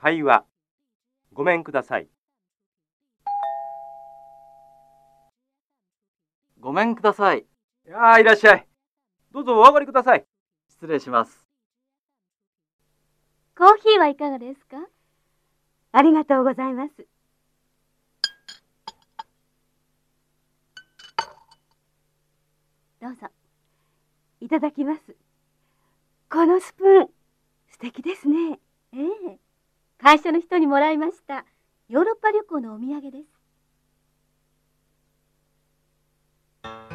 会話。ごめんください。 ごめんください。 いらっしゃい。どうぞお上がりください。 失礼します。 コーヒーはいかがですか？ ありがとうございます。 どうぞ。 いただきます。このスプーン、素敵ですね。 ええ。会社の人にもらいました。ヨーロッパ旅行のお土産です。